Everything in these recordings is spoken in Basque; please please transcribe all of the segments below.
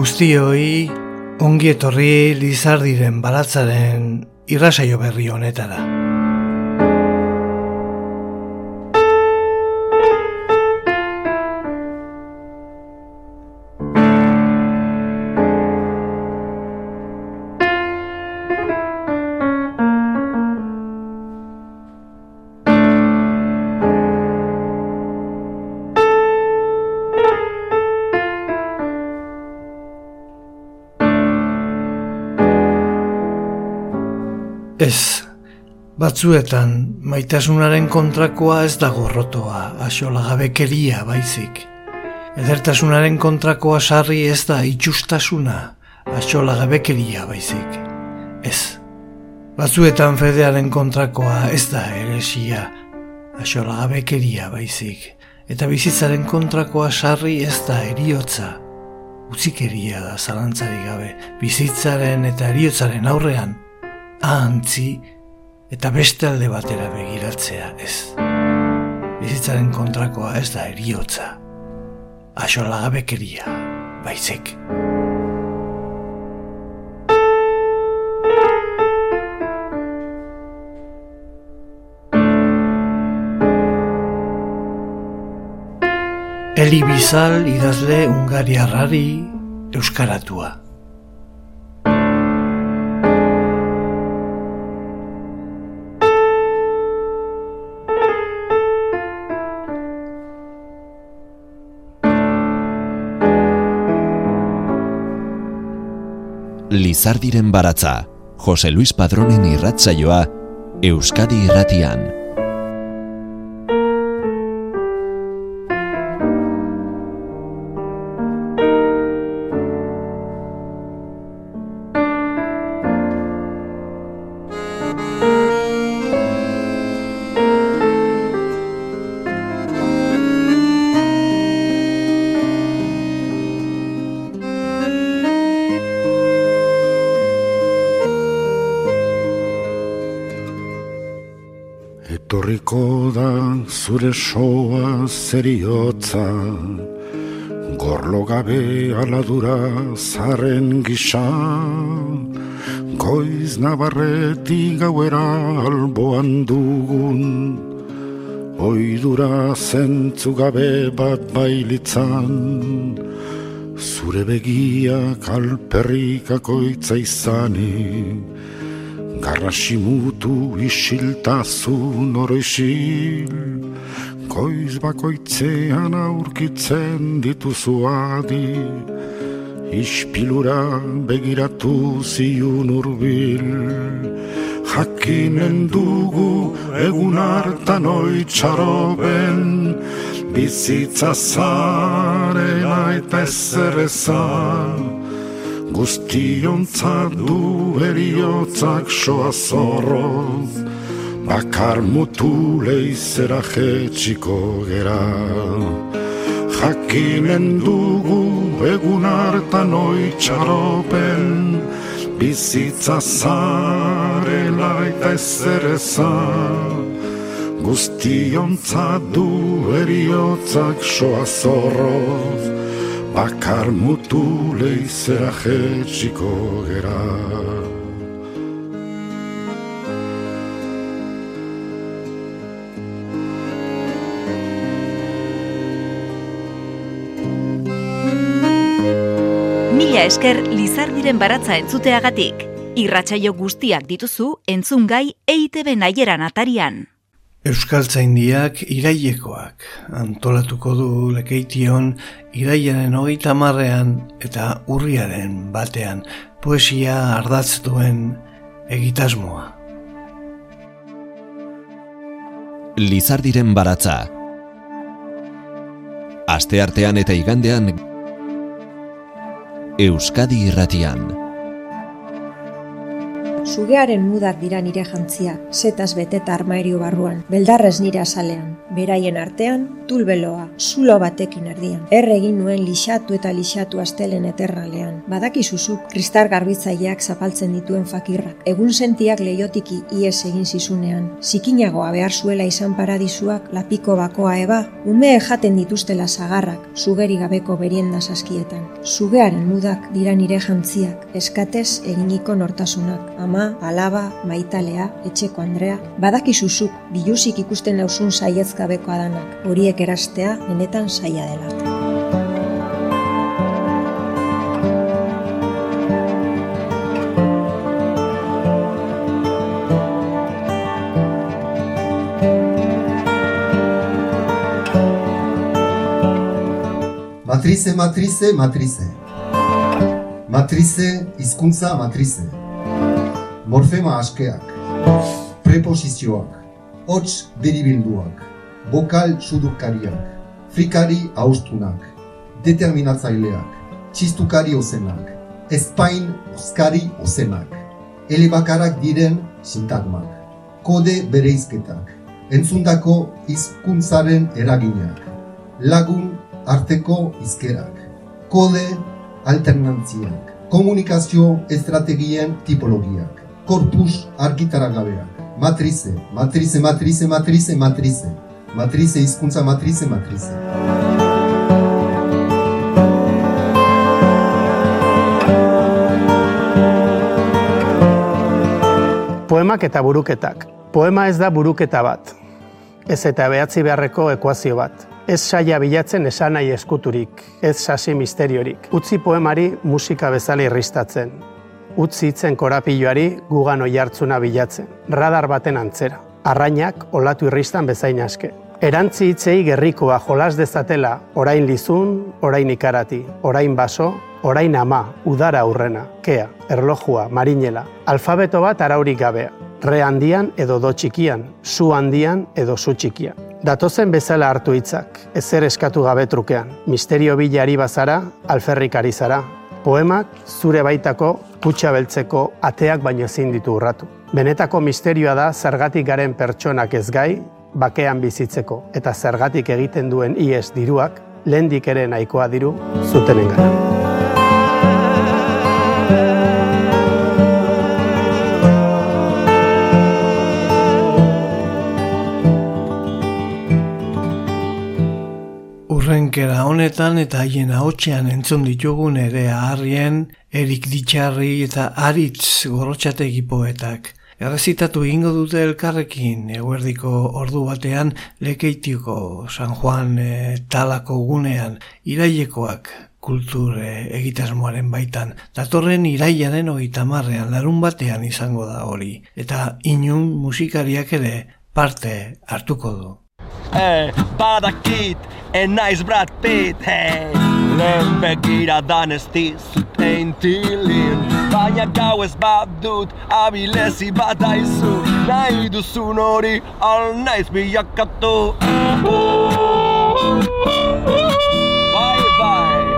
Guztioi ongi etorri Lizardiren baratzaren irrasaio berri honetara. Ez, batzuetan maitasunaren kontrakoa ez da gorrotoa, axolagabekeria baizik. Edertasunaren kontrakoa sarri ez da itxustasuna, axolagabekeria baizik. Ez, batzuetan fedearen kontrakoa ez da heresia, axolagabekeria baizik. Eta bizitzaren kontrakoa sarri ez da heriotza, utzikeria da zalantzarik gabe. Bizitzaren eta heriotzaren aurrean, ahantzi eta beste alde batera begiratzea ez. Bizitzaren kontrakoa ez da heriotza, axolagabekeria baizik. Eli Bizal idazle hungariarrari euskaratua. Lizardiren baratza, Jose Luis Padronen irratsaioa, Euskadi Irratian. Etorriko da zure soa zeriotza, gorlo gabe aladura zaren gisa, goiz nabarretik gauera alboan dugun, oidura zentzu gabe bat bailitzan, zure begiak alperrikakoitza izanik, garrasimutu isiltasun oroisil, goiz bakoitzean aurkitzen dituzu adi, ispilura begiratu ziun urbil. Jakinen dugu egun hartan oitxaroben, bizitza zarela eta ezerrezan, guztiontzat du eriotzak soa zorroz, bakar mutu leizera jetxiko gera. Jakinen dugu egun hartan oitxaropen, bizitza zarela eta ezerrezan, guztiontzat du eriotzak soa zorroz, bakar mutu leizera jetxiko gera. Mila esker Lizardiren baratza entzuteagatik. Irratsaio guztiak dituzu entzungai EITB Naieran atarian. Euskaltzaindiak irailekoak antolatuko du Lekeition irailaren 30 eta urriaren 1 poesia ardatz duen egitasmoa. Lizardiren baratza. Asteartean eta igandean Euskadi Irratian. Sugearen mudak dira nire jantzia, setaz beteta armairio barruan, beldarrez nire azalean, beraien artean, tulbeloa, zulo batekin erdian. Egin nuen lixatu eta lixatu astelen eterralean. Badakizuzuk, kristal garbitzaileak zapaltzen dituen fakirrak. Egun sentiak leiotiki ies egin zizunean. Zikinagoa behar zuela izan paradisuak, lapiko bakoa eba, ume jaten dituztela sagarrak, sugeri gabeko berienda saskietan. Sugearen mudak dira nire jantziak, eskatez eginiko nortasunak. Ama, alaba, maitalea, etxeko Andrea, badakizuzuk, biluzik ikusten nauzun saietz gabeko adanak. Horiek erastea benetan saia dela. Matrize, matrize, matrize. Matrize, hizkuntza matrize. Morfema askeak. Preposizioak. Hots deribilduak. Bokal sudukariak. Frikari austunak. Determinatzaileak. Txistukari ozenak. Espain oskari ozenak. Elebakarak diren sintagmak. Kode bereizketak. Entzundako hizkuntzaren eraginak. Lagun arteko hizkerak, kode alternantziak, komunikazio estrategien tipologiak, korpus argitaragabeak, matrize, matrize, matrize, matrize, matrize, matrize, hizkuntza matrize, matrize. Poemak eta buruketak. Poema ez da buruketa bat, ez eta behatzi beharreko ekuazio bat. Ez saia bilatzen esanahi eskuturik, ez sasi misteriorik. Utzi poemari musika bezala irristatzen. Utzi hitzen korapiloari gugan oihartzuna bilatzen. Radar baten antzera. Arrainak olatu irristan bezain aske. Erantzi hitzei gerrikoa jolas dezatela, orain lizun, orain ikarati, orain baso, orain ama, udara aurrena, kea, erlojua, marinela. Alfabeto bat araurik gabea. Re handian edo do txikian, zu handian edo zu txikian. Datozen bezala hartu hitzak, ezer eskatu gabe trukean. Misterio bilari bazara, alferrik ari zara. Poemak zure baitako kutxa beltzeko ateak baino ezin ditu urratu. Benetako misterioa da zergatik garen pertsonak ez gai, bakean bizitzeko, eta zergatik egiten duen ies diruak, lehendik ere nahikoa diru zutenen gara. Urrenkera honetan eta haien ahotsean entzun ditugun ere Harrien, Erik Ditxarri eta Aritz Gorrotxategi poetak. Errezitatu egingo dute elkarrekin eguerdiko ordu batean Lekeitioko San Juan talako gunean irailekoak kultur egitasmoaren baitan. Datorren irailaren 30ean larun batean izango da hori. Eta inun musikariak ere parte hartuko du. Badakit, naiz Brad Pitt, lehen begiradan ez dizut eintilin, baina gau ez badut abilezi bat aizu, nahi duzun hori al naiz bilakatu. Bye bye.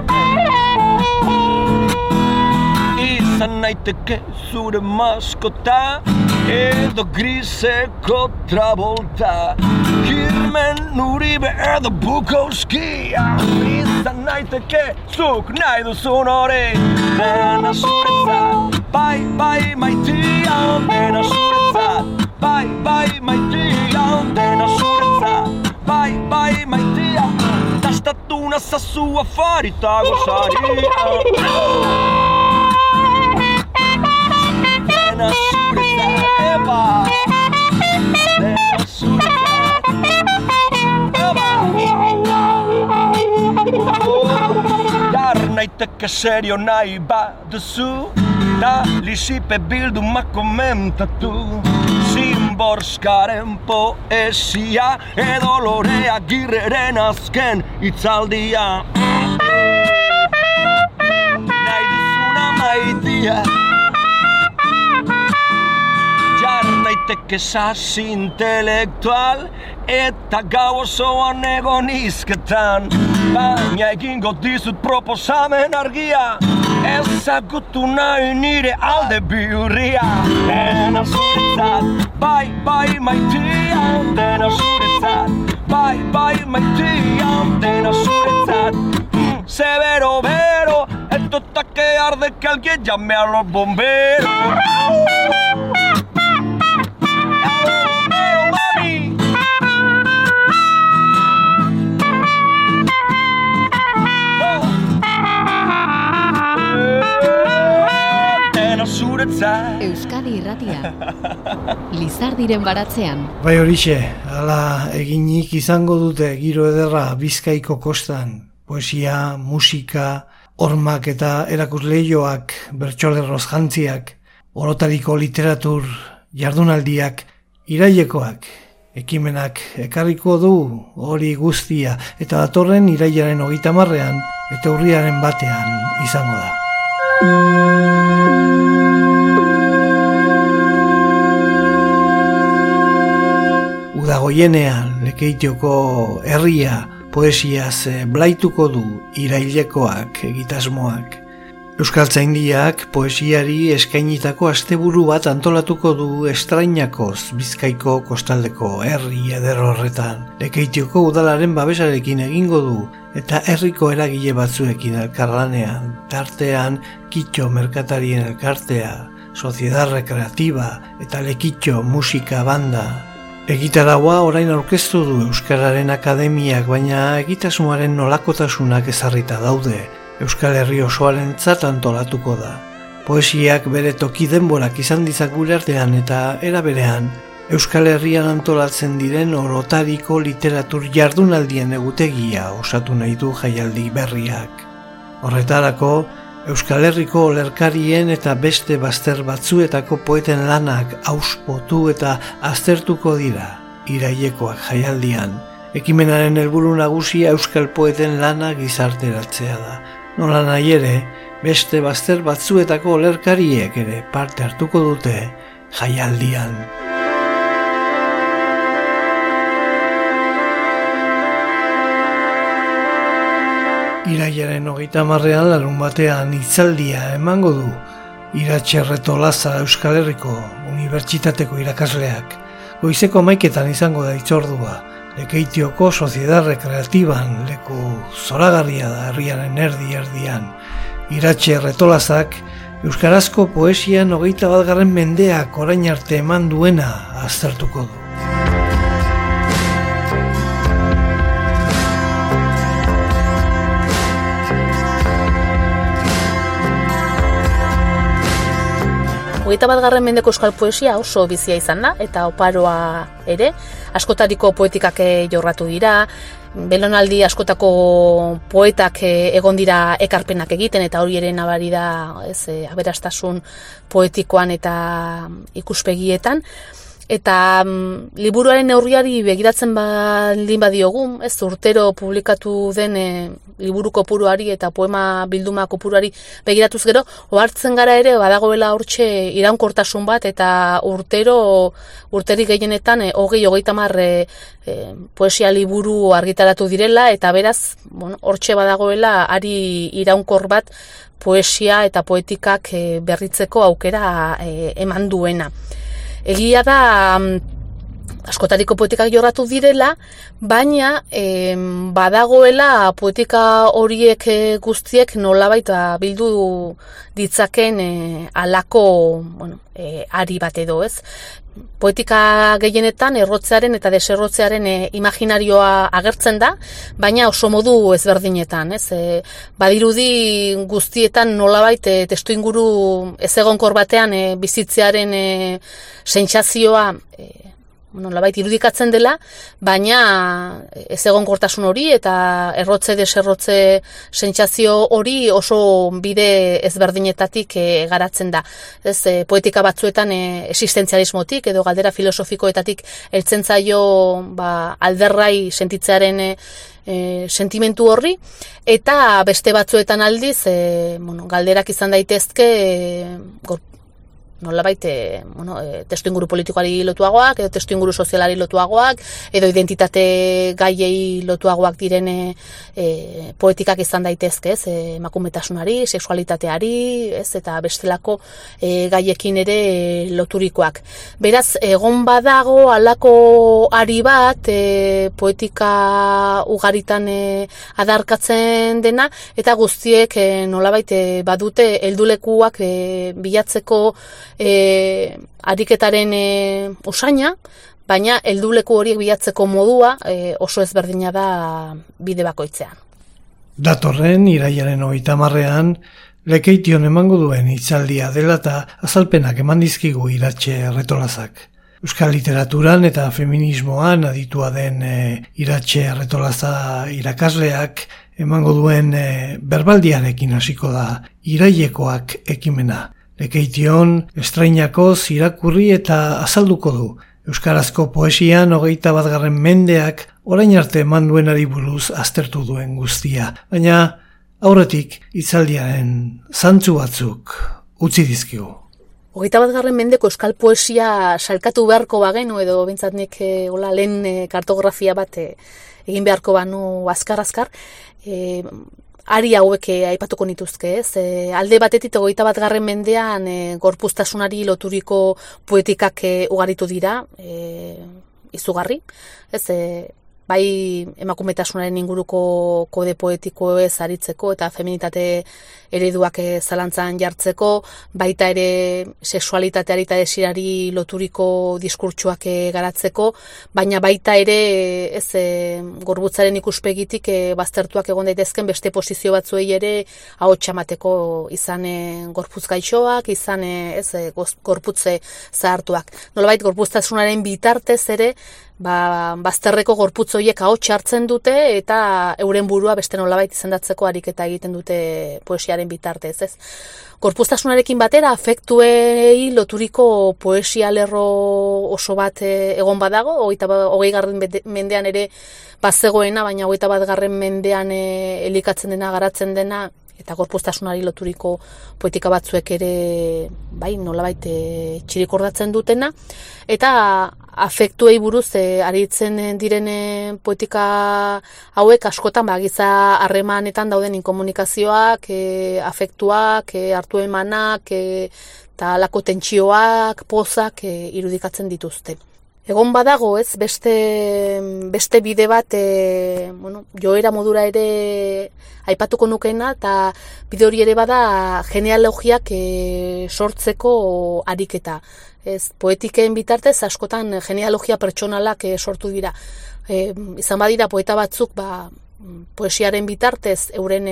Izan naiteke zure maskota, edo griseko Travolta, Kirmen Uribe edo Bukowski. Izan naiteke zuk nahi duzun hori, dena zuretzat. Bai, bai, maitia, dena zuretzat. Bai, bai, maitia, dena zuretzat. Bai, bai, maitia, dastatu nazazu afari eta gozari. Dena zuretzat, eba. Dena zuretzat, eba. Dar naiteke serio nahi baduzu, da lixipe bildumak komentatu. Zimborskaren poesia edo Lore Agirreren azken hitzaldia. Nahi duzuna maitia, jar naiteke sasi intelektual eta gau osoan egon izketan, baina egingo dizut proposamen argia. ezagutu nahi nire alde bihurria. Dena zuretzat, bai, bai maitia, dena zuretzat, bai, bai maitia, dena zuretzat. Severo, vero, esto está que arde, que alguien llame a los bomberos. Euskadi Irratia, Lizardiren baratzean. Bai horixe, hala eginik izango dute giro ederra Bizkaiko kostan. Poesia, musika, hormak eta erakusleioak, bertsolerroz jantziak, orotariko literatur, jardunaldiak, irailekoak, ekimenak ekarriko du hori guztia, eta datorren irailaren 30ean eta urriaren 1ean izango da. Udagoienean Lekeitioko herria poesiaz blaituko du irailekoak egitasmoak. Euskaltzaindiak poesiari eskainitako asteburu bat antolatuko du Estrainakoz Bizkaiko kostaldeko herri eder horretan. Lekeitioko udalaren babesarekin egingo du eta herriko eragile batzuekin elkarlanean, tartean Kitxo merkatarien elkartea, Sociedad Recreativa eta Lekitxo musika banda. Egitaraua orain aurkeztu du Euskararen Akademiak, baina egitasmoaren nolakotasunak ezarrita daude. Euskal Herri osoarentzat antolatuko da. Poesiak bere toki denborak izan dizak gure artean eta era berean, Euskal Herrian antolatzen diren orotariko literatur jardunaldien egutegia osatu nahi du jaialdi berriak. Horretarako, Euskal Herriko olerkarien eta beste bazter batzuetako poeten lanak auspotu eta aztertuko dira irailekoak jaialdian. Ekimenaren helburu nagusia euskal poeten lana gizarteratzea da. Nola nahi ere, beste bazter batzuetako olerkariek ere parte hartuko dute jaialdian. Irailaren 30ean larunbatean hitzaldia emango du Iratxe Retolaza Euskal Herriko Unibertsitateko irakasleak. Goizeko 11etan izango da hitzordua. Lekeitioko Sociedad Recreatiban leku zoragarria da herriaren erdi-erdian. Iratxe Retolazak euskarazko poesian 21. mendeak orain arte eman duena aztertuko du. Hogeita 21. mendeko euskal poesia oso bizia izan da, eta oparoa ere, askotariko poetikak jorratu dira, belonaldi askotako poetak egon dira ekarpenak egiten, eta hori ere nabari da aberastasun poetikoan eta ikuspegietan. Eta liburuaren neurriari begiratzen baldin badiogun, urtero publikatu den liburu kopuruari eta poema bilduma kopuruari begiratuz gero, ohartzen gara ere badagoela hortxe iraunkortasun bat, eta urterik gehienetan 20-30 poesia liburu argitaratu direla, eta beraz, hortxe badagoela ari iraunkor bat poesia eta poetikak berritzeko aukera eman duena. Egia da askotariko poetikak jorratu direla, baina badagoela poetika horiek guztiek nolabait bildu ditzaken halako ari bat edo, ez? Poetika gehienetan errotzearen eta deserrotzearen imaginarioa agertzen da, baina oso modu ezberdinetan, ez? Badirudi guztietan nolabait testuinguru ezegonkor batean bizitzearen sentsazioa nolabait irudikatzen dela, baina ezegonkortasun hori eta errotze deserrotze sentsazio hori oso bide ezberdinetatik garatzen da. Ez, poetika batzuetan existentzialismotik edo galdera filosofikoetatik heltzen zaio alderrai sentitzearen sentimentu horri, eta beste batzuetan aldiz galderak izan daitezke nolabait testu inguru politikoari lotuagoak, edo testu inguru sozialari lotuagoak, edo identitate gaiei lotuagoak diren poetikak izan daitezke, ez, emakumetasunari, sexualitateari, ez, eta bestelako gaiekin ere loturikoak. Beraz, egon badago halako ari bat poetika ugaritan adarkatzen dena, eta guztiek nolabait badute heldulekuak bilatzeko ariketaren usaina, baina helduleku horiek bilatzeko modua oso ezberdina da bide bakoitzean. Datorren irailaren 30ean Lekeition emango duen hitzaldia dela eta azalpenak eman dizkigu Iratxe Erretolazak. Euskal literaturan eta feminismoan aditua den Iratxe Erretolaza irakasleak emango duen berbaldiarekin hasiko da irailekoak ekimena. Lekeition estrainakoz irakurri eta azalduko du. Euskarazko poesian 21. mendeak orain arte eman duenari buruz aztertu duen guztia. Baina aurretik hitzaldiaren zantzu batzuk utzi dizkigu. 21. mendeko euskal poesia salkatu beharko bagenu, edo bintzat nik lehen kartografia bat egin beharko banu azkar-azkar, ari hauek aipatuko nituzke, ez? Alde batetik 21. mendean gorpuztasunari loturiko poetikak ugaritu dira, izugarri, ez? Bai emakumetasunaren inguruko kode poetikoez aritzeko eta feminitate ereduak zalantzan jartzeko, baita ere sexualitateari eta desirari loturiko diskurtsuak garatzeko, baina baita ere gorputzaren ikuspegitik baztertuak egon daitezken beste posizio batzuei ere ahotsa emateko, izan gorputz gaixoak, izan gorputze zahartuak. Nolabait gorpuztasunaren bitartez ere bazterreko gorputz horiek ahots hartzen dute eta euren burua beste nolabait izendatzeko ariketa egiten dute poesiaren bitartez, ez? Gorpuztasunarekin batera afektuei loturiko poesia lerro oso bat egon badago, 20. mendean ere bazegoena, baina 21. mendean elikatzen dena, garatzen dena, eta gorpuztasunari loturiko poetika batzuek ere bai nolabait txirikordatzen dutena, eta afektuei buruz aritzen diren poetika hauek askotan giza harremanetan dauden inkomunikazioak, afektuak, hartu emanak, eta halako tentsioak, pozak irudikatzen dituzte. Egon badago, ez, beste bide bat, joera modura ere aipatuko nukeena, eta bide hori ere bada genealogiak sortzeko ariketa. Ez, poetiken bitartez askotan genealogia pertsonalak sortu dira. Izan badira poeta batzuk poesiaren bitartez euren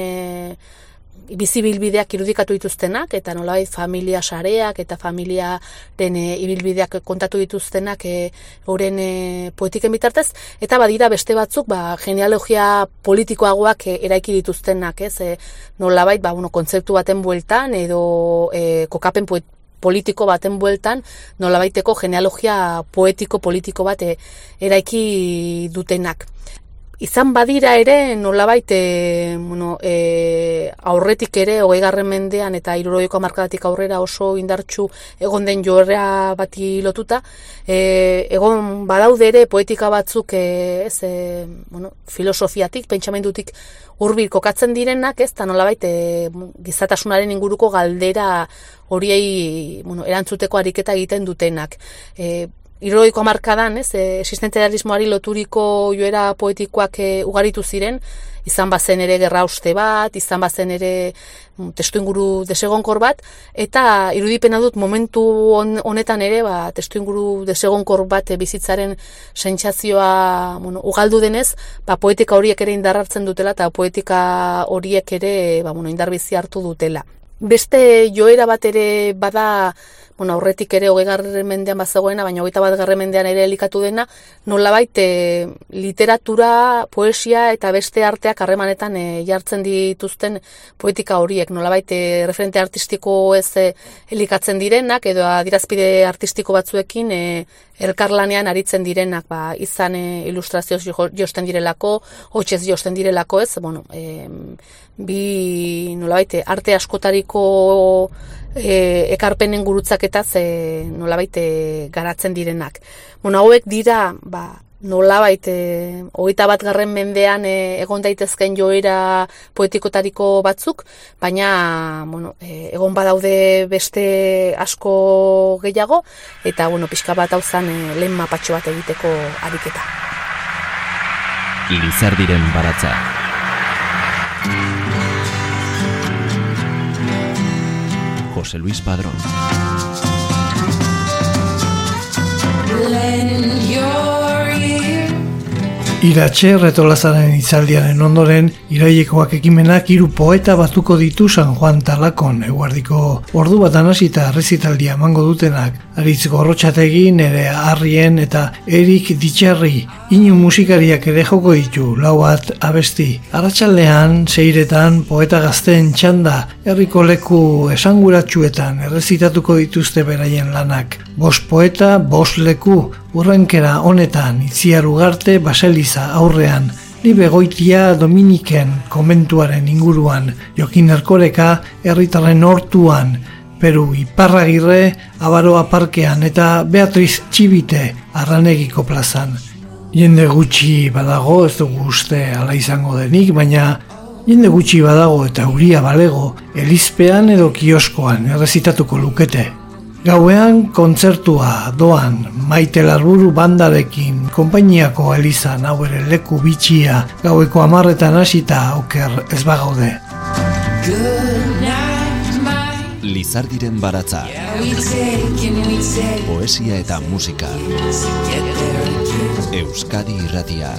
bizibilbideak irudikatu dituztenak, eta nolabait familia sareak eta familiaren ibilbideak kontatu dituztenak euren poetiken bitartez, eta badira beste batzuk genealogia politikoagoak eraiki dituztenak, ez? Nolabait kontzeptu baten bueltan edo kokapen politiko baten bueltan nolabaiteko genealogia poetiko-politiko bat eraiki dutenak. Izan badira ere nolabait aurretik ere 20. mendean eta 60ko hamarkadatik aurrera oso indartsu egon den joera bati lotuta, egon badaude ere poetika batzuk filosofiatik, pentsamendutik hurbil kokatzen direnak, ez, eta nolabait gizatasunaren inguruko galdera horiei erantzuteko ariketa egiten dutenak. 60ko hamarkadan, existentzialismoari loturiko joera poetikoak ugaritu ziren, izan bazen ere gerra uste bat, izan bazen ere testu inguru desegonkor bat, eta irudipena dut momentu honetan ere testu inguru desegonkor bat bizitzaren sentsazioa ugaldu denez, poetika horiek ere indar hartzen dutela, eta poetika horiek ere indarbizi hartu dutela. Beste joera bat ere bada, aurretik ere 20. mendean bazegoena, baina 21. mendean ere elikatu dena, nolabait literatura, poesia eta beste arteak harremanetan jartzen dituzten poetika horiek, nolabait referente artistiko ez elikatzen direnak, edo adierazpide artistiko batzuekin elkarlanean aritzen direnak, izan ilustrazioz josten direlako, hotsez josten direlako, ez, bi nolabait arte askotariko ekarpenen gurutzaketaz nolabait garatzen direnak. Hauek dira, nolabait 21. mendean egon daitezken joera poetikotariko batzuk, baina egon badaude beste asko gehiago, eta pixka bat hau zen lehen mapatxo bat egiteko ariketa. Lizardiren baratza. José Luis Padrón. Iratxe Retolazaren hitzaldiaren ondoren, irailekoak ekimenak 3 poeta batuko ditu San Juan Talakon. Eguerdiko ordu batan hasita errezitaldia emango dutenak, Aritz Gorrotxategi, Nerea Arrien eta Erik Ditxarri. Inu musikariak ere joko ditu, 4 abesti. Arratsaldean, 6etan, poeta gazteen txanda, herriko leku esanguratsuetan errezitatuko dituzte beraien lanak. 5 poeta, 5 leku, urrenkera honetan, Itziar Ugarte Baseliza aurrean, Libe Goitia Dominiken komentuaren inguruan, Jokin Erkoreka herritarren hortuan, Peru Iparragirre Abaroa parkean eta Beatriz Txibite Arranegiko plazan. Jende gutxi badago, ez dugu uste ala izango denik, baina jende gutxi badago eta euria balego, Elizpean edo kioskoan errezitatuko lukete. Gauean kontzertua doan Maite Larburu bandarekin konpainiako elizan, hau ere leku bitxia, gaueko 10etan hasita oker ez bagaude. Lizardiren baratza. Poesia eta musika. Euskadi Irratia.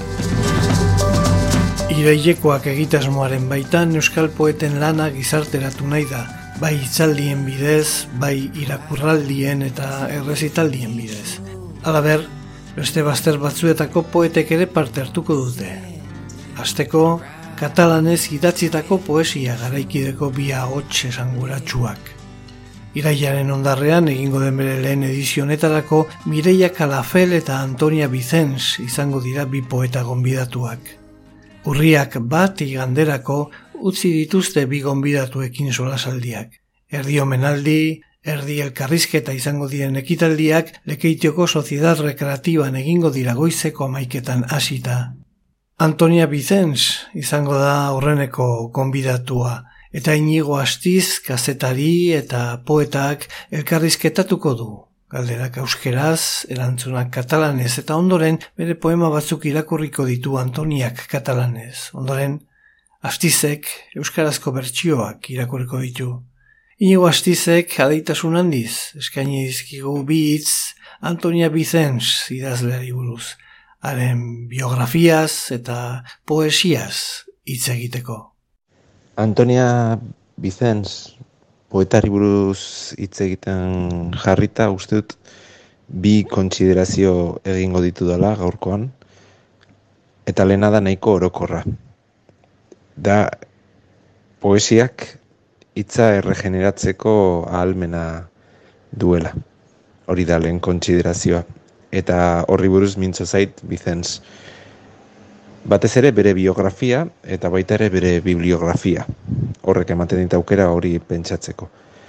Irailekoak egitasmoaren baitan euskal poeten lana gizarteratu nahi da. Bai hitzaldien bidez, bai irakurraldien eta errezitaldien bidez. Halaber, beste bazter batzuetako poetek ere parte hartuko dute. Hasteko, katalanez idatzitako poesia garaikideko 2 ahots esanguratsuak. Irailaren ondarrean egingo den bere lehen edizionetarako Mireia Calafel eta Antonia Vicens izango dira 2 poeta gonbidatuak. Urriak 1 iganderako utzi dituzte 2 gonbidatuekin solasaldiak. Erdi omenaldi, erdi elkarrizketa izango diren ekitaldiak Lekeitioko Soziedad Rekreatiban egingo dira goizeko 11etan hasita. Antonia Vicens izango da aurreneko gonbidatua, eta Inigo Astiz kazetari eta poetak elkarrizketatuko du. Galderak euskeraz, erantzunak katalanez, eta ondoren bere poema batzuk irakurriko ditu Antoniak katalanez. Ondoren, Astizek euskarazko bertsioak irakurriko ditu. Inigo Astizek adeitasun handiz, eskaini dizkigu 2 hitz Antonia Vicens idazleari buruz, haren biografiaz eta poesiaz hitz egiteko. Antonia Vicens poetari buruz hitz egiten jarrita, uste dut 2 kontsiderazio egingo ditu dela gaurkoan, eta lehena da nahiko orokorra. Da poesiak hitza erregeneratzeko ahalmena duela. Hori da lehen kontsiderazioa. Eta horri buruz mintzo zait Vicens. Batez ere bere biografia eta baita ere bere bibliografia. Horrek ematen dit aukera hori pentsatzeko.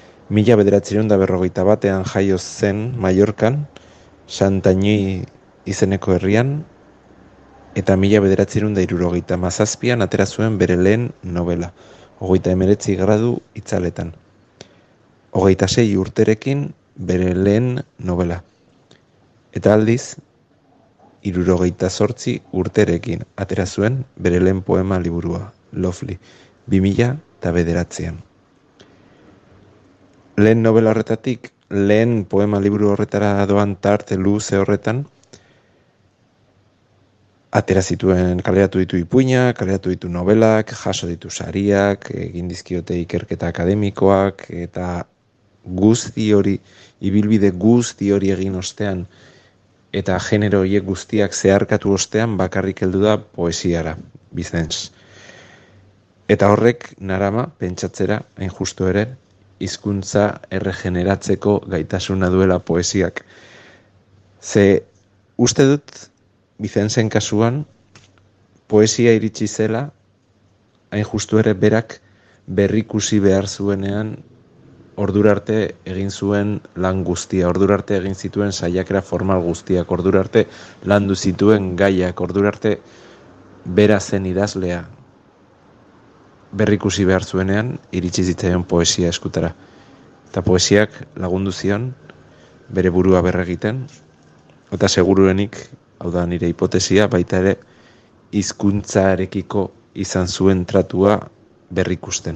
1941 jaio zen Mallorcan, Santanyí izeneko herrian, eta 1977an atera zuen bere lehen novela, 39 gradu itzaletan. 26 urterekin bere lehen novela. Eta aldiz, 78 urterekin atera zuen bere lehen poema liburua, Lovely, 2009an. Lehen novela horretatik, lehen poema liburu horretara doan tarte luze horretan, atera zituen, kaleratu ditu ipuinak, kaleratu ditu novelak, jaso ditu sariak, egin dizkiote ikerketa akademikoak, eta guzti hori, ibilbide guzti hori egin ostean, eta genero horiek guztiak zeharkatu ostean bakarrik heldu da poesiara, Vicens. Eta horrek narama, pentsatzera, hain justu ere, hizkuntza erregeneratzeko gaitasuna duela poesiak. Ze uste dut, Vicensen kasuan, poesia iritsi zela, hain justu ere berak berrikusi behar zuenean ordura arte egin zuen lan guztia, ordura arte egin zituen saiakera formal guztiak, ordura arte landu zituen gaiak, ordura arte bera zen idazlea berrikusi behar zuenean, iritsi zitzaion poesia eskutara. Eta poesiak lagundu zion bere burua berregiten, eta seguruenik, hau da nire hipotesia, baita ere hizkuntzarekiko izan zuen tratua berrikusten.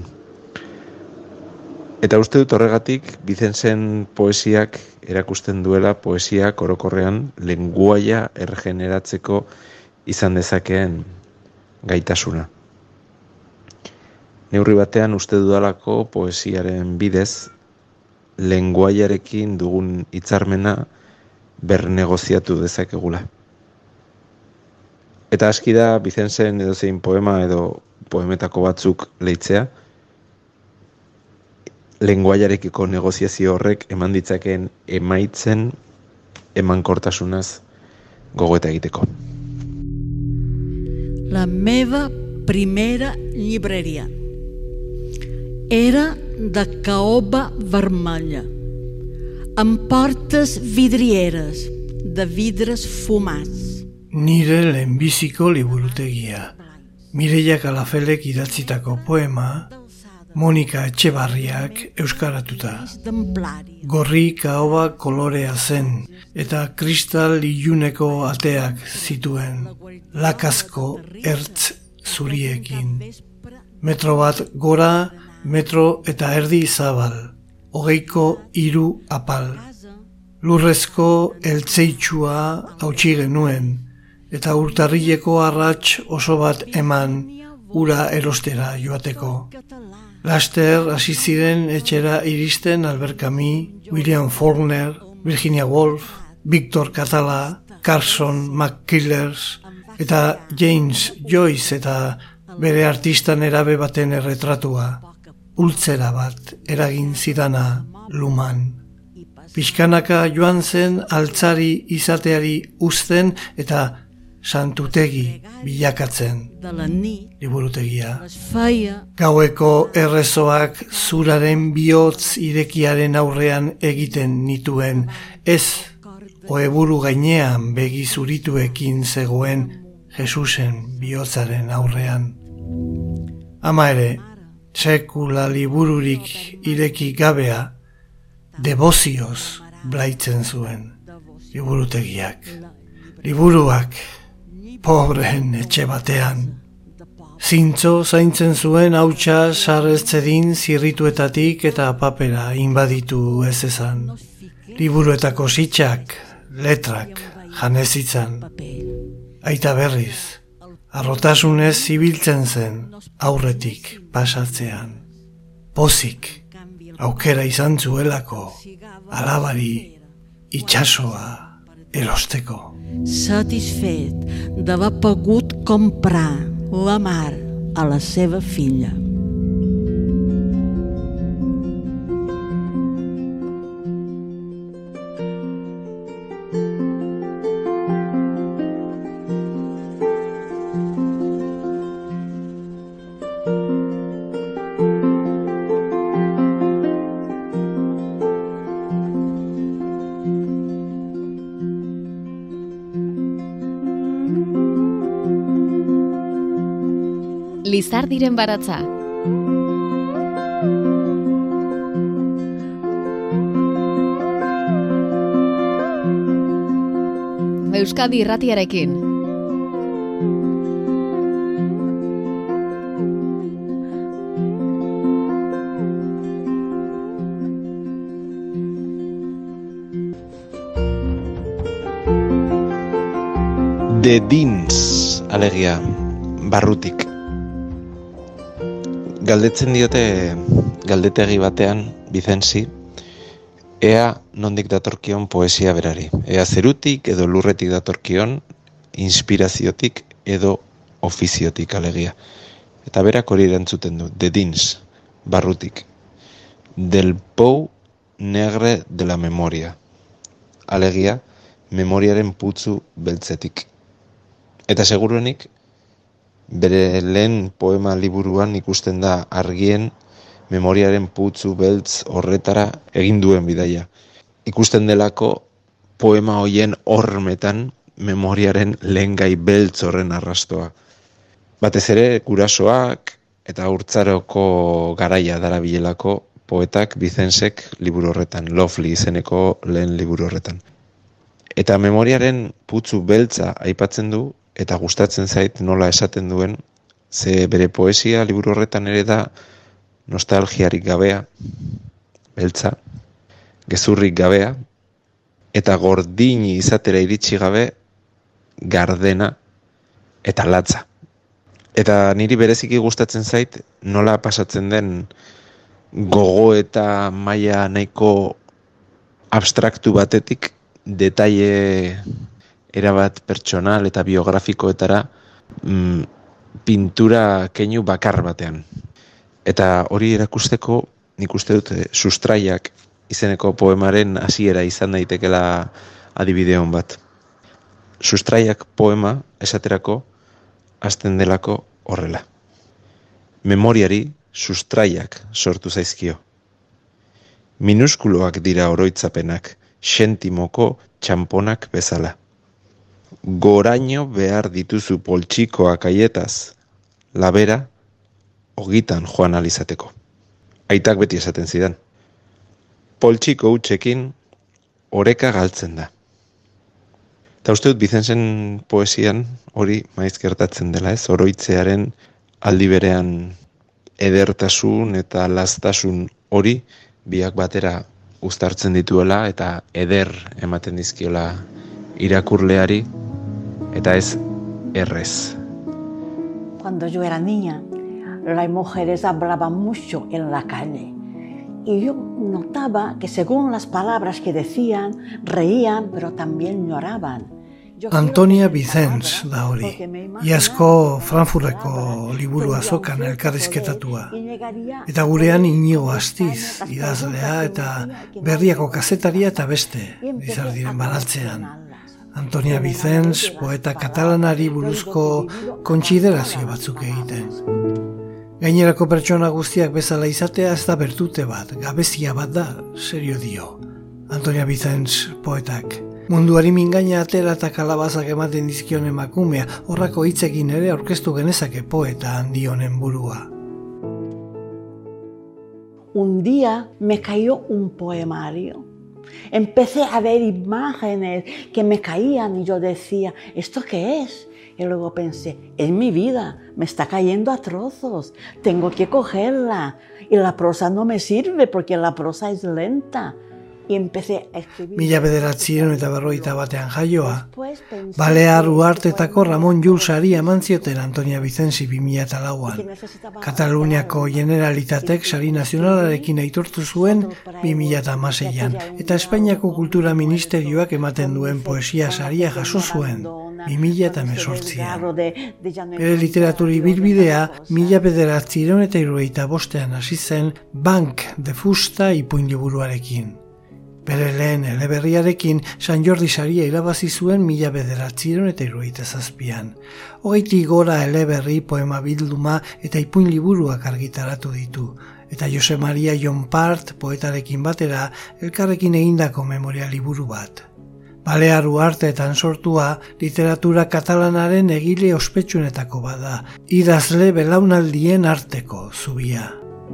Eta uste dut horregatik, Vicenzen poesiak erakusten duela poesiak orokorrean lenguaia erregeneratzeko izan dezakeen gaitasuna. Neurri batean uste dudalako poesiaren bidez, lenguaiarekin dugun hitzarmena bernegoziatu dezakegula. Eta aski da Vicenzen edozein poema edo poemetako batzuk leitzea, lenguaiarekiko negoziazio horrek eman ditzakeen emaitzen emankortasunaz gogoeta egiteko. La meva primera llibreria era de caoba vermella, amb portes vidrieres, de vidres fumats. Nire lehenbiziko liburutegia. Mireia Kalafelek idatzitako poema, Monika Etxebarriak euskaratuta. Gorri kaoba kolorea zen, eta kristal iluneko ateak zituen, lakazko ertz zuriekin. Metro bat gora, metro eta erdi zabal, 23 apal. Lurrezko eltzeitsua hautsi genuen, eta urtarrileko arrats oso bat eman ura erostera joateko. Laster hasi ziren etxera iristen Albert Camus, William Faulkner, Virginia Woolf, Victor Catala, Carson McCullers eta James Joyce eta bere artistan erabe baten erretratua, ultzera bat eragin zidana luman. Pixkanaka joan zen altzari izateari uzten eta santutegi bilakatzen liburutegia. Gaueko errezoak zuraren bihotz irekiaren aurrean egiten nituen, ez oheburu gainean begi zurituekin zegoen Jesusen bihotzaren aurrean. Ama ere, sekula libururik ireki gabea, debozioz blaitzen zuen liburutegiak. Liburuak, pobreen etxe batean. Zintzo zaintzen zuen hautsa sarreztzedin zirrituetatik eta papera inbaditu ez ezan. Liburuetako sitxak, letrak, janezitzan. Aita berriz, arrotasunez zibiltzen zen aurretik pasatzean. Pozik, aukera izan zuelako, alabari itxasoa erosteko. Satisfet d'haver pogut comprar la mar a la seva filla. Lizardiren baratza. Euskadi Irratiarekin. De dins, alegia, barrutik. Galdetzen diote galdetegi batean Vicenzi, ea nondik datorkion poesia berari. Ea zerutik edo lurretik datorkion, inspiraziotik edo ofiziotik alegia. Eta berak hori erantzuten du, de dins, barrutik. Del pou negre de la memoria. Alegia, memoriaren putzu beltzetik. Eta seguruenik, bere lehen poema liburuan ikusten da argien memoriaren putzu beltz horretara egin duen bidaia. Ikusten delako poema hoien hormetan memoriaren lehengai beltz horren arrastoa. Batez ere, gurasoak eta haurtzaroko garaia darabilelako poetak Vicensek liburu horretan, Lovely izeneko lehen liburu horretan. Eta memoriaren putzu beltza aipatzen du, eta gustatzen zait nola esaten duen, ze bere poesia liburu horretan ere da nostalgiarik gabea, beltza, gezurrik gabea, eta gordini izatera iritsi gabe, gardena eta latza. Eta niri bereziki gustatzen zait nola pasatzen den gogo eta maila nahiko abstraktu batetik detaile erabat pertsonal eta biografikoetara pintura keinu bakar batean. Eta hori erakusteko nik uste dut Sustraiak izeneko poemaren hasiera izan daitekela adibide on bat. Sustraiak poema esaterako hasten delako horrela. Memoriari sustraiak sortu zaizkio. Minuskuloak dira oroitzapenak, sentimoko txamponak bezala. Goraino behar dituzu poltsikoak aietaz, labera, ogitan joan alizateko. Aitak beti esaten zidan. Poltsiko hutsekin oreka galtzen da. Eta uste dut Vicensen poesian hori maiz gertatzen dela, ez? Oroitzearen aldi berean edertasun eta lastasun hori biak batera uztartzen dituela eta eder ematen dizkiola irakurleari eta ez errez. Cuando yo era niña, las mujeres hablaban mucho en la calle. Y yo notaba que según las palabras que decían, reían, pero también lloraban. Antonia Vicens da hori. Iazko Frankfurteko liburu azokan elkarrizketatua. Eta gurean Inigo Astiz, idazlea eta berriako kazetaria eta beste, Lizardiren baratzean. Antonia Vicens, poeta katalanari buruzko kontsiderazio batzuk egiten. Gainerako pertsona guztiak bezala izatea ez da bertute bat, gabezia bat da, serio dio. Antonia Vicens poetak. Munduari mingaina atera eta kalabazak ematen dizkion emakumea, horrako hitzekin ere aurkeztu genezake poeta handi honen burua. Un día me cayó un poemario. Empecé a ver imágenes que me caían y yo decía, ¿esto qué es? Y luego pensé, es mi vida, me está cayendo a trozos, tengo que cogerla. Y la prosa no me sirve porque la prosa es lenta. Mila 1951 jaioa, Balear Uhartetako Ramon Llull saria eman zioten Antonia Vicensi 2004an. Kataluniako Generalitatek sari nazionalarekin aitortu zuen 2016an, eta Espainiako Kultura Ministerioak ematen duen poesia saria jaso zuen 2018an. Bere literaturi bilbidea 1975an hasi zen Banc de Fusta ipuin liburuarekin. Bere lehen eleberriarekin San Jordi saria irabazi zuen 1977an. 20 gora eleberri, poema bilduma eta ipuin liburuak argitaratu ditu. Eta Jose Maria Llompart poetarekin batera elkarrekin egindako memoria liburu bat. Balear Uharteetan sortua literatura katalanaren egile ospetsuenetako bada, idazle belaunaldien arteko zubia.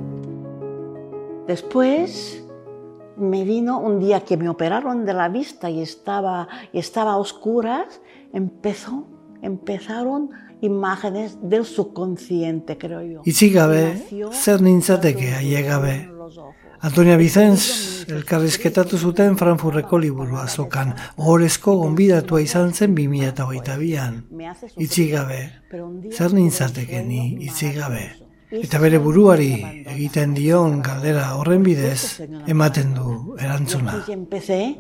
Después me vino un día que me operaron de la vista y estaba a oscuras, empezaron imágenes del subconsciente, creo yo. Itzik gabe, zer nintzateke ailegabe. Antonia Vicens elkarrizketatu zuten Frankfurteko liburu azokan, ohorezko gonbidatua izan zen 2022an. Itzik gabe, zer nintzateke ni itzik gabe. Eta bere buruari egiten dion galdera horren bidez ematen du erantzuna. Empecé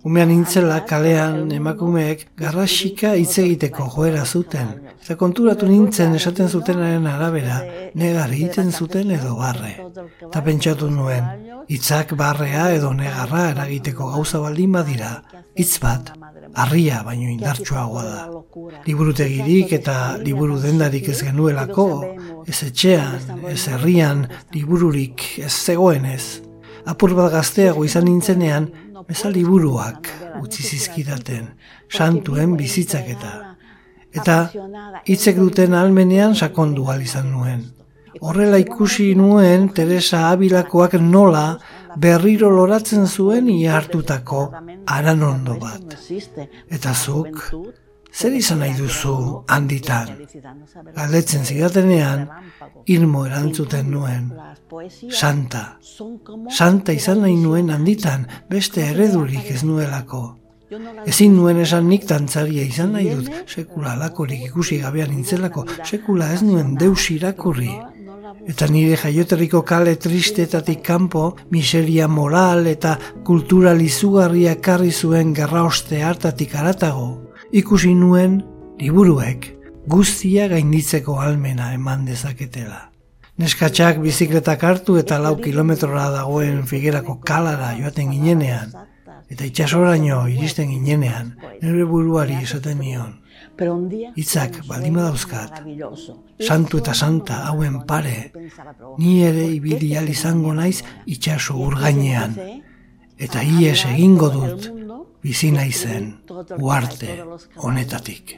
Umean nintzela kalean emakumeek garrasika hitz egiteko joera zuten. Eta konturatu nintzen esaten zutenaren arabera, negar egiten zuten edo barre. Eta pentsatu nuen, hitzak barrea edo negarra eragiteko gauza baldin badira, hitz bat, harria baino indartsuagoa da. Liburutegirik eta liburu dendarik ez genuelako, ez etxean, ez herrian, libururik ez zegoenez. Apur bat gazteago izan nintzenean, beza liburuak utzi zizkidaten, santuen bizitzak eta hitzek duten ahalmenean sakondu ahal izan nuen. Horrela ikusi nuen Teresa Abilakoak nola berriro loratzen zuen ia hartutako haranondo bat. Eta zuk, zer izan nahi duzu handitan? Galdetzen zidatenean, irmo erantzuten nuen. Santa. Santa izan nahi nuen handitan, beste eredurik ez nuelako. Ezin nuen esan nik dantzaria izan nahi dut, sekula alakorik ikusi gabean nintzelako, sekula ez nuen deus irakurri. Eta nire jaioterriko kale tristetatik kanpo, miseria moral eta kultural izugarria karri zuen gerraoste hartatik haratago. Ikusi nuen liburuek guztia gainditzeko ahalmena eman dezaketela. Neskatxak bizikletak hartu eta 4 kilometrora dagoen Figuerako kalara joaten ginenean, eta itxasoraino iristen ginenean, nire buruari esaten nion. Hitzak baldin badauzkat, santu eta santa hauen pare, ni ere ibili ahal izango naiz itxaso urgainean, eta ies egingo dut bizi naizen uharte honetatik.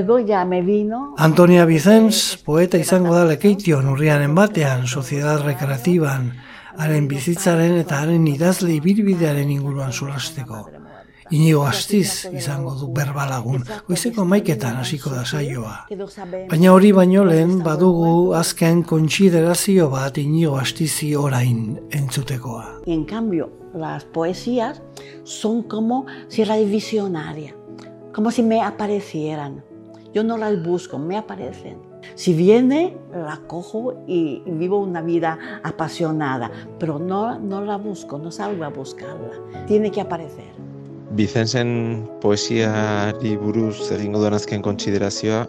Antonia Vicens, poeta izango da Lekeition urriaren batean, Soziedad Rekreatiban, haren bizitzaren eta haren idazle ibilbidearen inguruan solasteko. Inigo Astiz izango du berbalagun, goizeko 11etan hasiko da saioa. Baina hori baino lehen badugu azken kontsiderazio bat Inigo Astizi orain entzutekoa. En cambio, las poesías son como si las visionaria, como si me aparecieran. Yo no las busco, me aparecen. Si viene, la cojo y vivo una vida apasionada, pero no la busco, no salgo a buscarla. Tiene que aparecer. Vicensen poesiari buruz egingo duen azken kontsiderazioa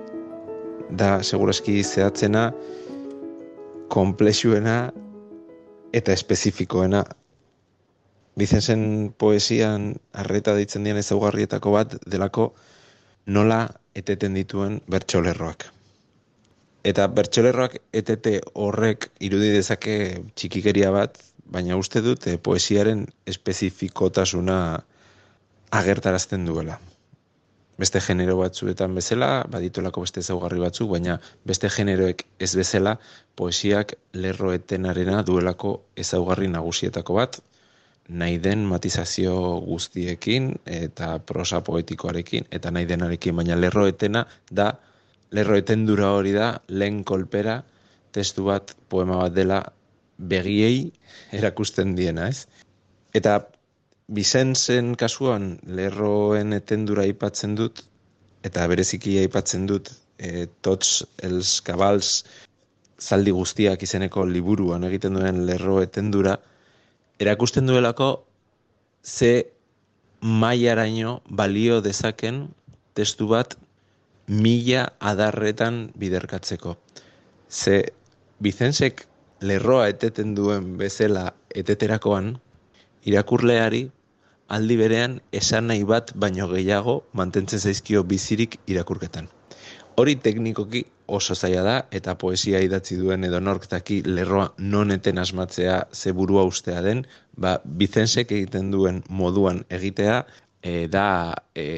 da segurazki zehatzena, konplexuena eta espezifikoena. Vicensen poesian arreta deitzen dian ezaugarrietako bat delako nola eteten dituen bertsolerroak. Eta bertsolerroak etete horrek irudi dezake txikikeria bat, baina uste dut poesiaren espezifikotasuna agertarazten duela. Beste genero batzuetan bezala, baditolako beste ezaugarri batzuk, baina beste generoek ez bezala, poesiak lerroetenarena duelako ezaugarri nagusietako bat, nahi den matizazio guztiekin eta prosa poetikoarekin eta nahi denarekin, baina lerroetena da, lerroetendura hori da, lehen kolpera, testu bat, poema bat dela, begiei erakusten diena, ez? Eta Vicensen kasuan lerroen etendura aipatzen dut, eta bereziki aipatzen dut Tots els Cabals zaldi guztiak izeneko liburuan egiten duen lerro etendura, erakusten duelako ze mailaraino balio dezaken testu bat 1000 adarretan biderkatzeko. Ze Vicensek lerroa eteten duen bezala eteterakoan, irakurleari aldi berean esan nahi bat baino gehiago mantentzen zaizkio bizirik irakurketan. Hori teknikoki oso zaila da eta poesia idatzi duen edonork daki lerroa non eten asmatzea ze burua ustea den, Vicensek egiten duen moduan egitea da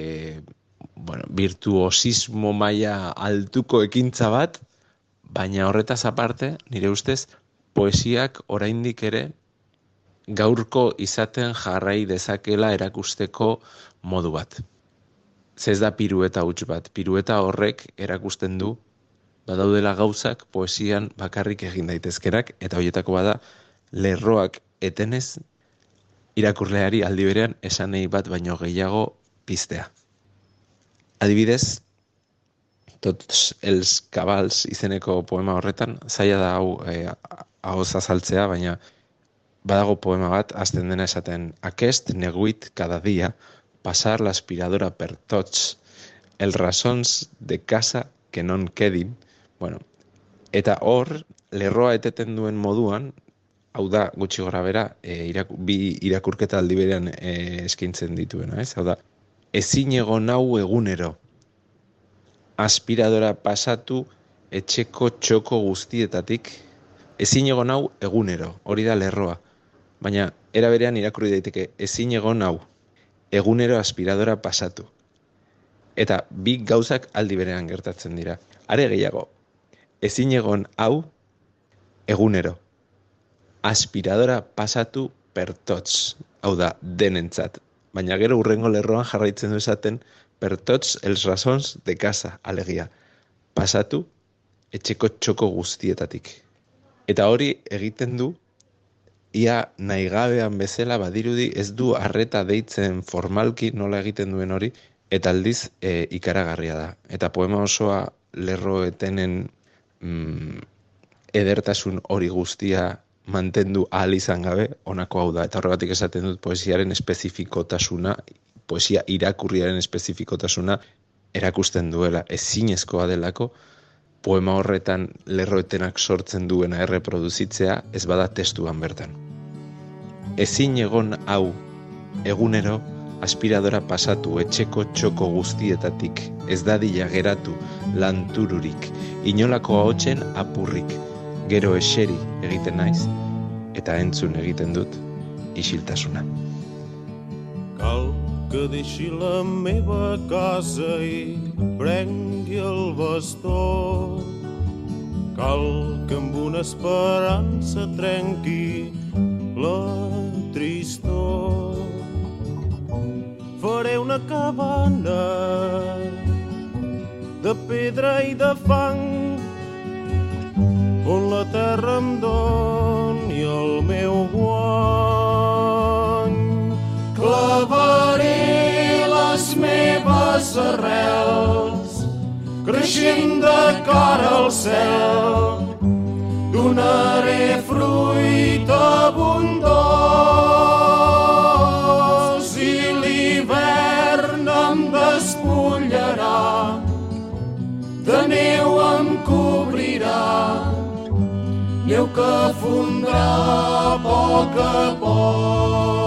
virtuosismo maila altuko ekintza bat, baina horretaz aparte, nire ustez, poesiak oraindik ere gaurko izaten jarrai dezakela erakusteko modu bat. Ez da pirueta huts bat, pirueta horrek erakusten du, badaudela gauzak poesian bakarrik egin daitezkerak, eta horietako bada lerroak etenez irakurleari aldi berean esanei bat baino gehiago piztea. Adibidez, Tots els Cabals izeneko poema horretan, zaila da hau ahoz azaltzea, baina badago poema bat, azten dena esaten, aquest neguit cada dia, pasar la aspiradora per tots, el rasons de casa que non quedin. Bueno, eta hor, lerroa eteten duen moduan, hau da, gutxi gora bera, bi irakurketa aldi berean eskaintzen dituena, ez? Hau da, ezin egon hau egunero, aspiradora pasatu etxeko txoko guztietatik, ezin egon hau egunero, hori da lerroa. Baina, era berean irakurri daiteke, ezin egon hau, egunero aspiradora pasatu. Eta bi gauzak aldi berean gertatzen dira. Are gehiago, ezin egon hau, egunero, aspiradora pasatu per tots, hau da, denentzat. Baina gero hurrengo lerroan jarraitzen du esaten, per tots els rasons de casa, alegia, pasatu etxeko txoko guztietatik. Eta hori egiten du, ia nahigabean bezala badirudi ez du arreta deitzen formalki nola egiten duen hori, eta aldiz ikaragarria da. Eta poema osoa lerroetenen edertasun hori guztia mantendu ahal izan gabe, honako hau da. Eta horregatik esaten dut poesiaren espezifikotasuna, poesia irakurriaren espezifikotasuna erakusten duela, ezinezkoa delako, poema horretan lerroetenak sortzen duena erreproduzitzea ez bada testuan bertan. Ezin egon hau egunero aspiradora pasatu etxeko txoko guztietatik, ez dadila geratu lantururik, inolako ahotsen apurrik, gero eseri egiten naiz, eta entzun egiten dut isiltasuna. Cal que deixi la meva casa i prengui el bastó. Cal que amb una esperança trenqui la tristor. Faré una cabana de pedra i de fang on la terra em doni el meu guany. Clavaré les meves arrels creixent de cara al cel. Donaré fruit abundós i l'hivern em despullarà, de neu em cobrirà, neu que fondrà a poc a poc.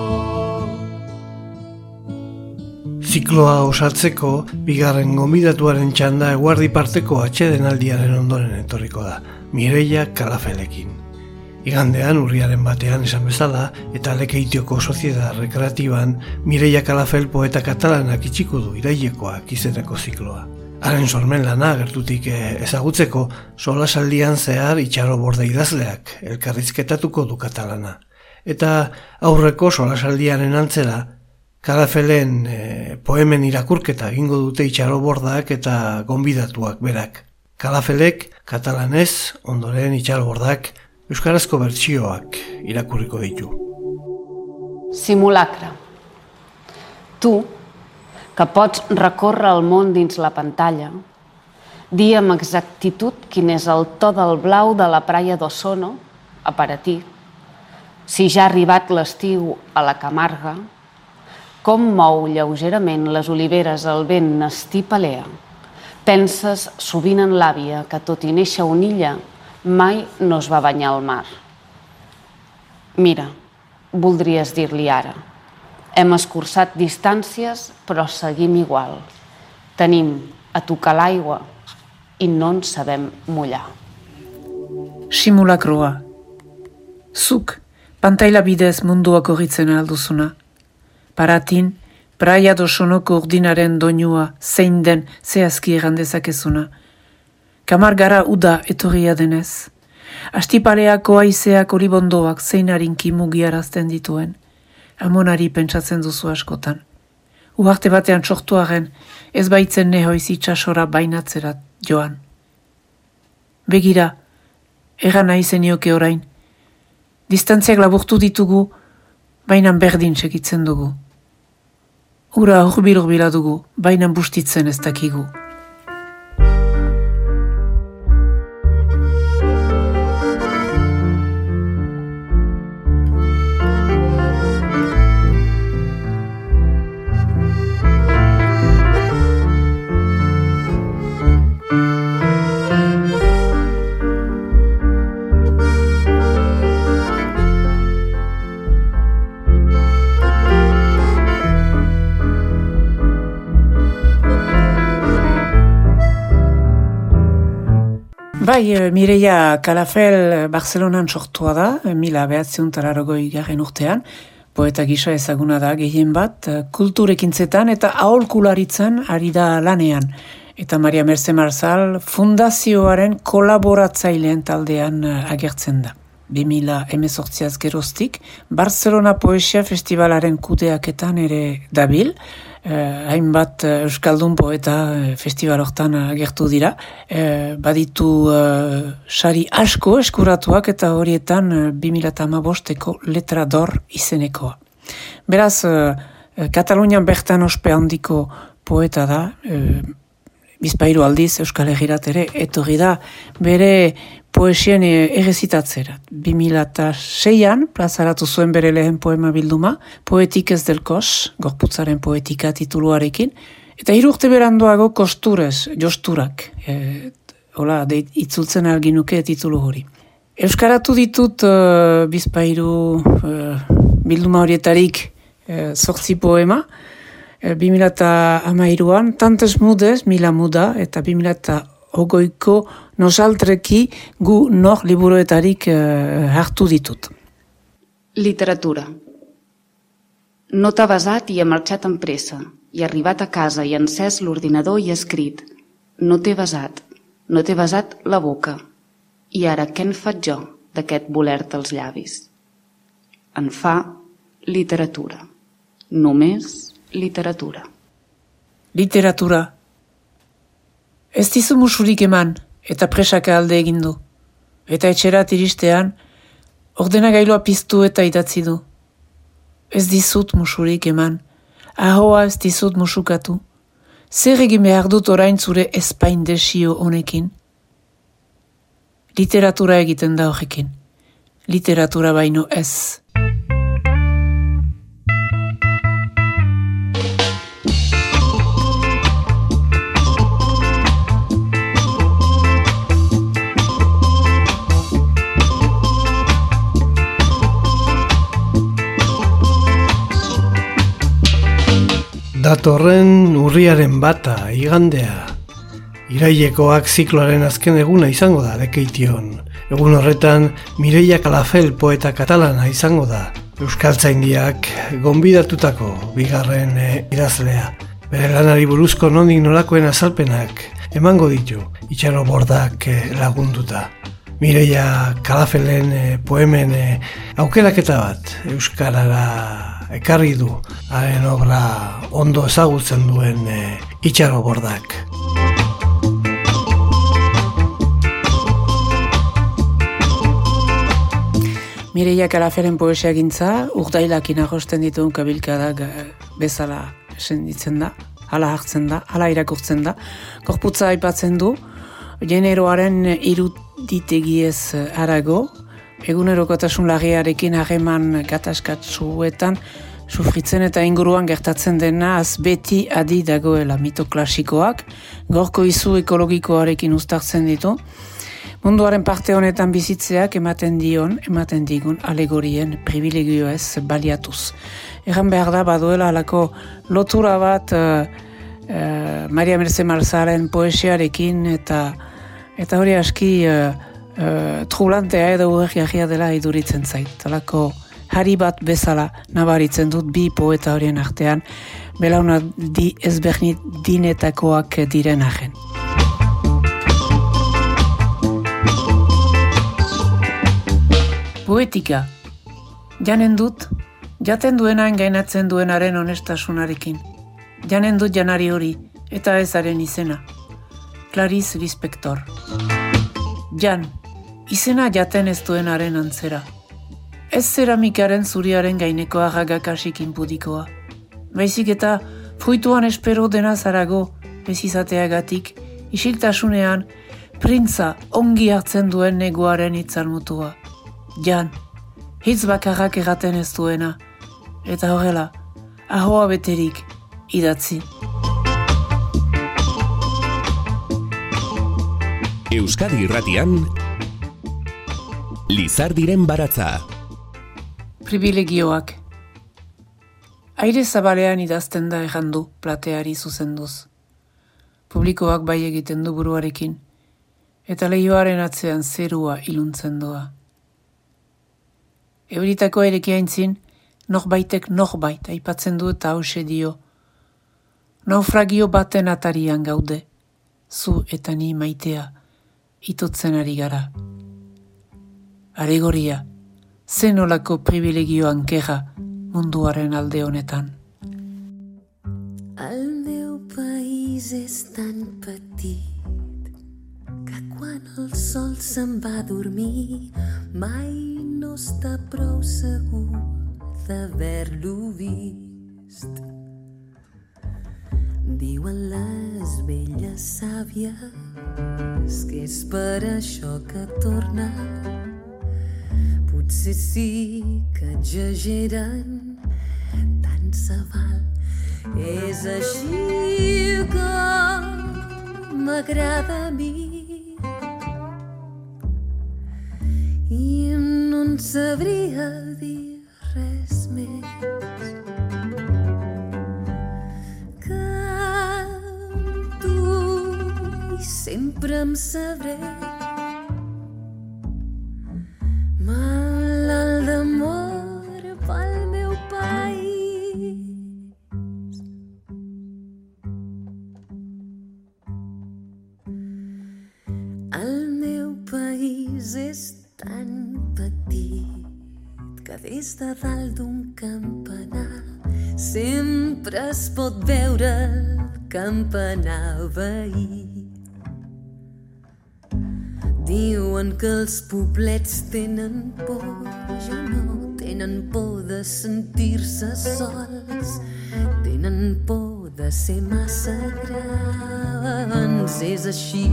Zikloa osatzeko, bigarren gonbidatuaren txanda eguerdi parteko atsedenaldiaren ondoren etorriko da, Mireia Kalafelekin. Igandean, urriaren batean esan bezala, eta Lekeitioko Soziedad Rekreatiban, Mireia Kalafel poeta katalanak itxiko du irailekoak izeneko zikloa. Haren sormen lana gertutik ezagutzeko, solasaldian zehar Itxaro Borde idazleak elkarrizketatuko du katalana. Eta aurreko solasaldiaren antzera, Kalafelen poemen irakurketa egingo dute Itxaro Bordak eta gonbidatuak berak. Kalafelek katalanez, ondoren Itxaro Bordak euskarazko bertsioak irakurriko ditu. Simulacre. Tu, que pots recórrer el món dins la pantalla, dir amb exactitud quin és el to del blau de la praia d'Osono, a Paratí, si ja ha arribat l'estiu a la Camarga, com mou lleugerament les oliveres el vent nestipalea. Penses sovint en l'àvia que, tot i néixer a una illa, mai no es va banyar al mar. Mira, voldries dir-li ara. Hem escurçat distàncies, però seguim igual. Tenim a tocar l'aigua i no ens sabem mullar. Simulakroa. Zuk, pantaila bidez mundua korritzen alduzuna. Paratin, praia d'Osonoko urdinaren doinua zein den zehazki errandezakezuna. Kamargara uda etorria denez. Astipaleako haizeak olibondoak zein harinki mugiarazten dituen. Amonari pentsatzen duzu askotan. Uharte batean sortuaren ez baitzen nehoiz itxasora bainatzerat joan. Begira, egan nahi zenioke orain. Distantziak laburtu ditugu, bainan berdin segitzen dugu. Ura hurbil-hurbila dugu, bainan bustitzen ez dakigu. Bai, Mireia Calafell Barcelonan sortua da, 1980 urtean, poeta gisa ezaguna da gehien bat, kulturekintzetan eta aholkularitzan ari da lanean. Eta Maria Merce Marzal fundazioaren kolaboratzaileen taldean agertzen da. 2018 geroztik, Barcelona Poesia Festivalaren kudeaketan ere dabil, hainbat euskaldun poeta festival hortan agertu dira. Baditu sari asko eskuratuak eta horietan 2015eko Letra d'Or izenekoa. Beraz, Katalunian bertan ospe handiko poeta da, bizpahiru aldiz Euskal Herrirat ere etorri da bere poesien errezitatzerat. 2006an plazaratu zuen bere lehen poema bilduma, Poetikez del Kos, gorputzaren poetika tituluarekin, eta 3 urte beranduago Kostures, josturak, itzultzen alginuke titulu hori. Euskaratu ditut bizpahiru bilduma horietarik 8 poema, 2013an Tantes Mudes, Mila Muda, eta 2008ko Nosaltreki gu nor liburuetarik hartu ditut. Literatura. No t'ha besat i ha marxat amb pressa, i ha arribat a casa i ha encès l'ordinador i ha escrit: no t'he besat la boca, i ara què en faig jo d'aquest voler-te els llavis? En fa literatura. Només literatura. Literatura. Ez dizu musurik eman, eta presaka alde egin du. Eta etxerat iristean, ordenagailua piztu eta idatzi du. Ez dizut musurik eman, ahoa ez dizut musukatu. Zer egin behar dut orain zure espain desio honekin? Literatura egiten da horrekin. Literatura baino ez. Datorren urriaren 1, igandea. Irailekoak zikloaren azken eguna izango da Lekeition. Egun horretan Mireia Calafell poeta katalana izango da. Euskaltzaindiak gonbidatutako bigarren idazlea. Bere lanari buruzko nondik nolakoen azalpenak emango ditu Itxaro Bordak lagunduta. Mireia Calafellen poemen aukeraketa bat euskarara ekarri du, haren obra ondo ezagutzen duen Itxaro Bordak. Mireia Calafellen poesia gintza, urdailakin agosten dituen kabilkadak bezala senditzen da, hala hartzen da, hala irakurtzen da. Gorputza aipatzen du, generoaren iruditegiez harago, egunerokotasun larriarekin harreman gatazkatsuetan sufritzen eta inguruan gertatzen dena az beti adi dagoela mito klasikoak, gorko izu ekologikoarekin uztartzen ditu, munduaren parte honetan bizitzeak ematen digun alegorien privilegioez baliatuz. Egan behar da baduela alako lotura bat Maria Merce Marzalen poesiarekin eta hori aski trublantea edo uherriagia dela iduritzen zait. Alako hari bat bezala nabaritzen dut bi poeta horien artean, belaunaldi ezberdinetakoak diren arren. Poetika. Janen dut, jaten duenain gainatzen duenaren honestasunarekin. Janen dut janari hori, eta ezaren izena. Clarice Lispector. Jan, izena jaten ez duenaren antzera. Ez zeramikaren zuriaren gaineko agagakasik inpudikoa. Baizik eta fruituan espero dena zarago, bezizateagatik, isiltasunean, printza ongi hartzen duen negoaren itzal mutua. Jan, hitz bakarrak erraten ez duena, eta horrela, ahoa beterik idatzi. Euskadi Irratian, Lizardiren baratza. Privilegioak. Aire zabalean idazten da errandu plateari zuzenduz. Publikoak bai egiten du buruarekin. eta lehioaren atzean zerua iluntzen doa. Euritako erekiaintzin, norbaitek norbait aipatzen du eta hause dio. Naufragio baten atarian gaude, zu eta ni maitea, itotzen ari gara. Aregoria, zenolako privilegioan kera munduaren alde honetan. El meu país és tan petit que quan el sol se'n va a dormir mai no està prou segur d'haver-lo vist. Diuen les velles sàvies que és per això que torna. Potser sí que exageren, tant se val. És així que m'agrada a mi i no en sabria dir res més. Que tu i sempre em sabré malalt d'amor pel meu país. El meu país és tan petit que des de dalt d'un campanar sempre es pot veure el campanar veí. Diuen que els poblets tenen por, jo no, tenen por de sentir-se sols, tenen por de ser massa grans. És així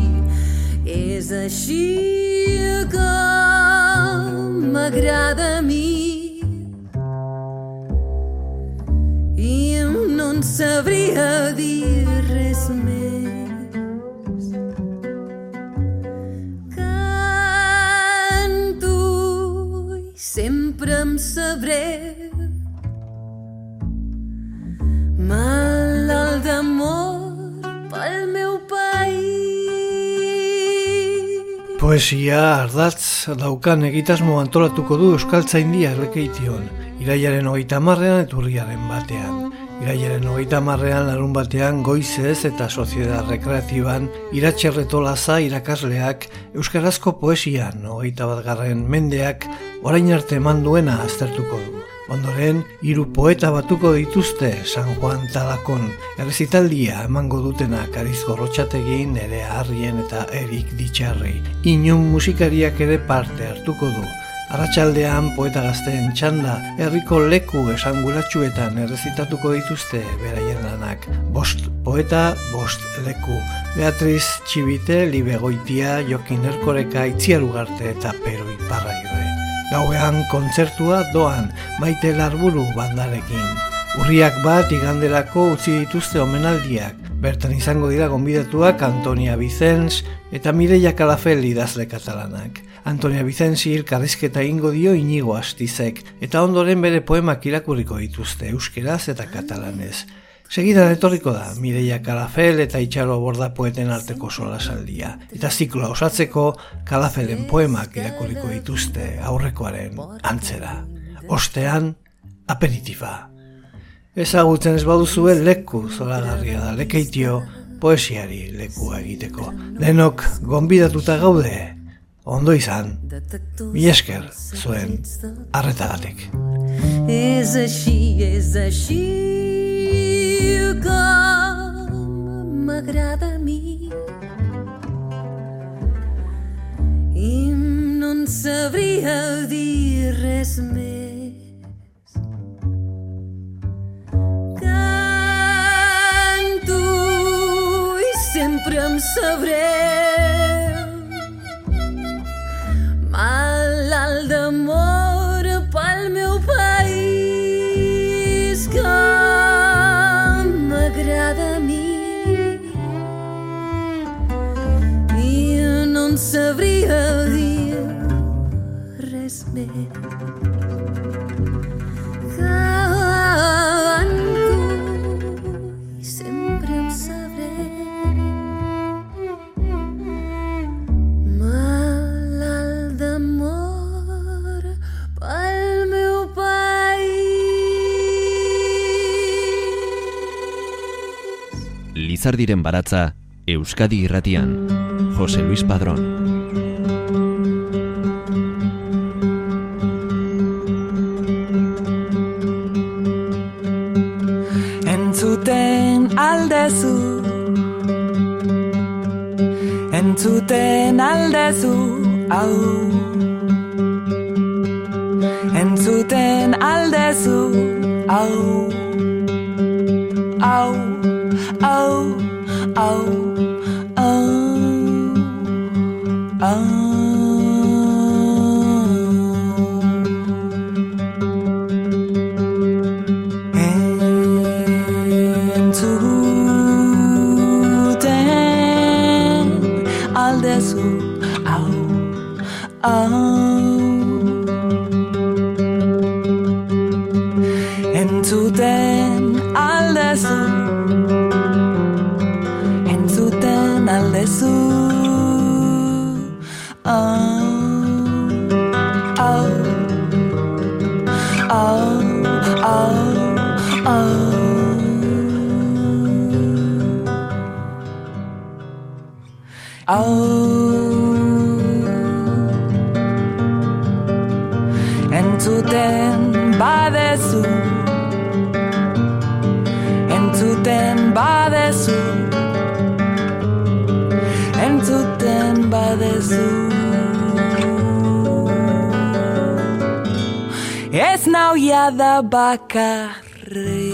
que m'agrada a mi i no en sabria dir res més. Sempre em sabré malalt d'amor pel meu país. Poesia ardatz daukan egitasmo antolatuko du Euskaltzaindia Lekeition, irailaren 30ean eta urriaren 1ean. Irailaren 30ean larun batean goizez eta Soziedad Rekreatiban Iratxerretolaza irakasleak euskarazko poesian 21. mendeak orain arte eman duena aztertuko du. Ondoren, 3 poeta batuko dituzte San Juan Talakon. Errezitaldia emango dutenak Ariz Gorrotxategi, Nerea Arrien eta Erik Ditxarri. Inun musikariak ere parte hartuko du. Arratsaldean poeta gazteen txanda herriko leku esanguratsuetan errezitatuko dituzte beraien lanak. 5 poeta, 5 leku. Beatriz Txibite, Libe Goitia, Jokin Erkoreka, Itziar Ugarte eta Pero Iparragirre. Gauean kontzertua doan Maite Larburu bandarekin. Urriak 1 iganderako utzi dituzte omenaldiak. Bertan izango dira gonbidatuak Antonia Vicens eta Mireia Calafell idazle katalanak. Antonia Vicenzi elkarrizketa egingo dio Inigo Astizek, eta ondoren bere poemak irakurriko dituzte euskeraz eta katalanez. Segidan etorriko da Mireia Calafell eta Itxaro Borda poeten arteko solasaldia. Eta zikloa osatzeko Calafellen poemak irakurriko dituzte aurrekoaren antzera. Ostean, aperitifa. Ezagutzen ez baduzue leku zoragarria da Lekeitio poesiari lekua egiteko. Denok gonbidatuta gaude. Ondo izan, mi esker zuen arretagatik. És així que m'agrada a mi i no en sabria dir res més. Canto i sempre em sabré malalt d'amor pel meu país que m'agrada a mi i no en sabria dir res més. Canto i sempre em sabré Lizardiren baratza, Euskadi Irratian, Jose Luis Padrón. Entzuten aldezu, entzuten aldezu, au. Entzuten aldezu, au. Au, au, au, au, au. Entzuten aldezu, entzuten aldezu, entzuten badezu, entzuten badezu, entzuten badezu. Ez nau jada bakarrik.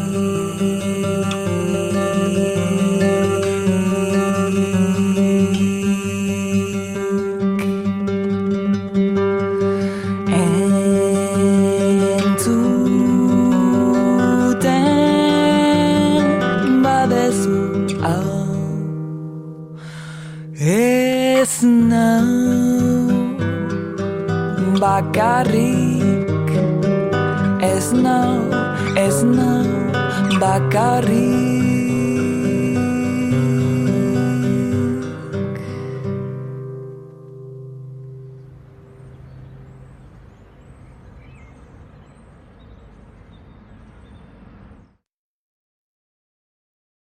Ez nau bakarrik, ez nau bakarrik.